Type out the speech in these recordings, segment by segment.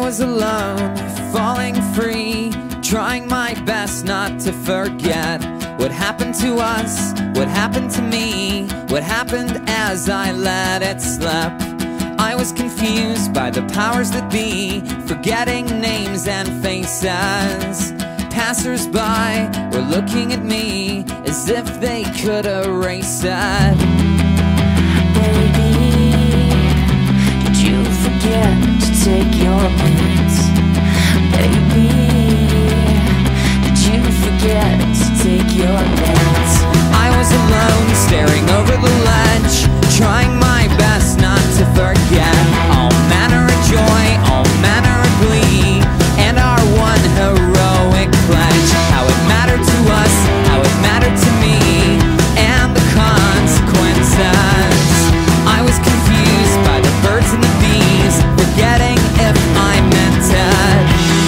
was alone, falling free, trying my best not to forget what happened to us, what happened to me, what happened as I let it slip. I was confused by the powers that be, forgetting names and faces. Passers-by were looking at me as if they could erase it. Baby, did you forget to take your meds? Baby, did you forget to take your meds? I was alone, staring over the ledge, trying my best not to forget all manner of joy, all manner of glee, and our one heroic pledge. How it mattered to us, how it mattered to me, and the consequences. I was confused by the birds and the bees, forgetting if I meant it.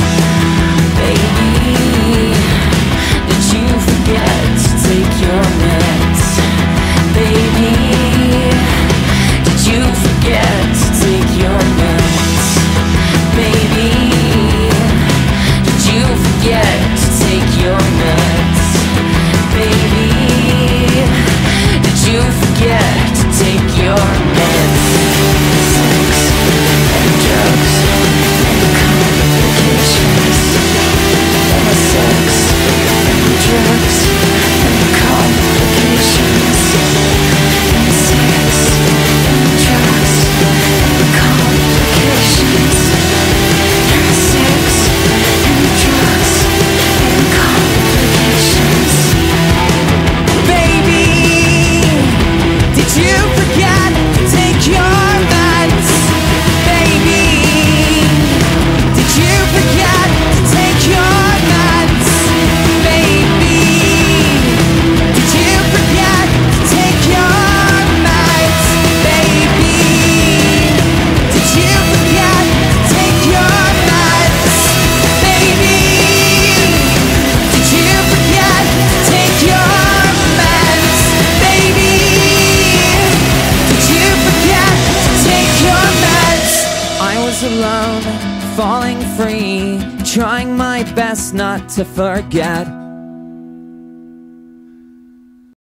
Baby, did you forget to take your meds? Baby, did you forget to take your meds? Baby, did you forget to take your meds? Baby, did you forget to take your meds? Sex and drugs and complications. Sex and drugs and complications. Sex and drugs and complications. Sex and drugs and complications. Baby, did you forget to take your meds? Baby, did you forget to take your meds? Baby, did you forget to take your meds? Baby, did you forget to take your meds? Baby, did you forget to take your meds? Baby, did you forget to take your meds? I was alone, falling free, trying my best not to forget